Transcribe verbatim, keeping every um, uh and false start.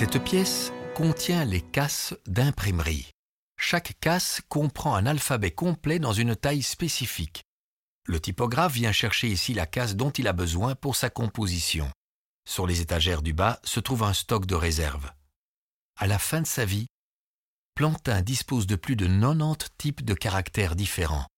Cette pièce contient les casses d'imprimerie. Chaque casse comprend un alphabet complet dans une taille spécifique. Le typographe vient chercher ici la casse dont il a besoin pour sa composition. Sur les étagères du bas se trouve un stock de réserve. À la fin de sa vie, Plantin dispose de plus de quatre-vingt-dix types de caractères différents.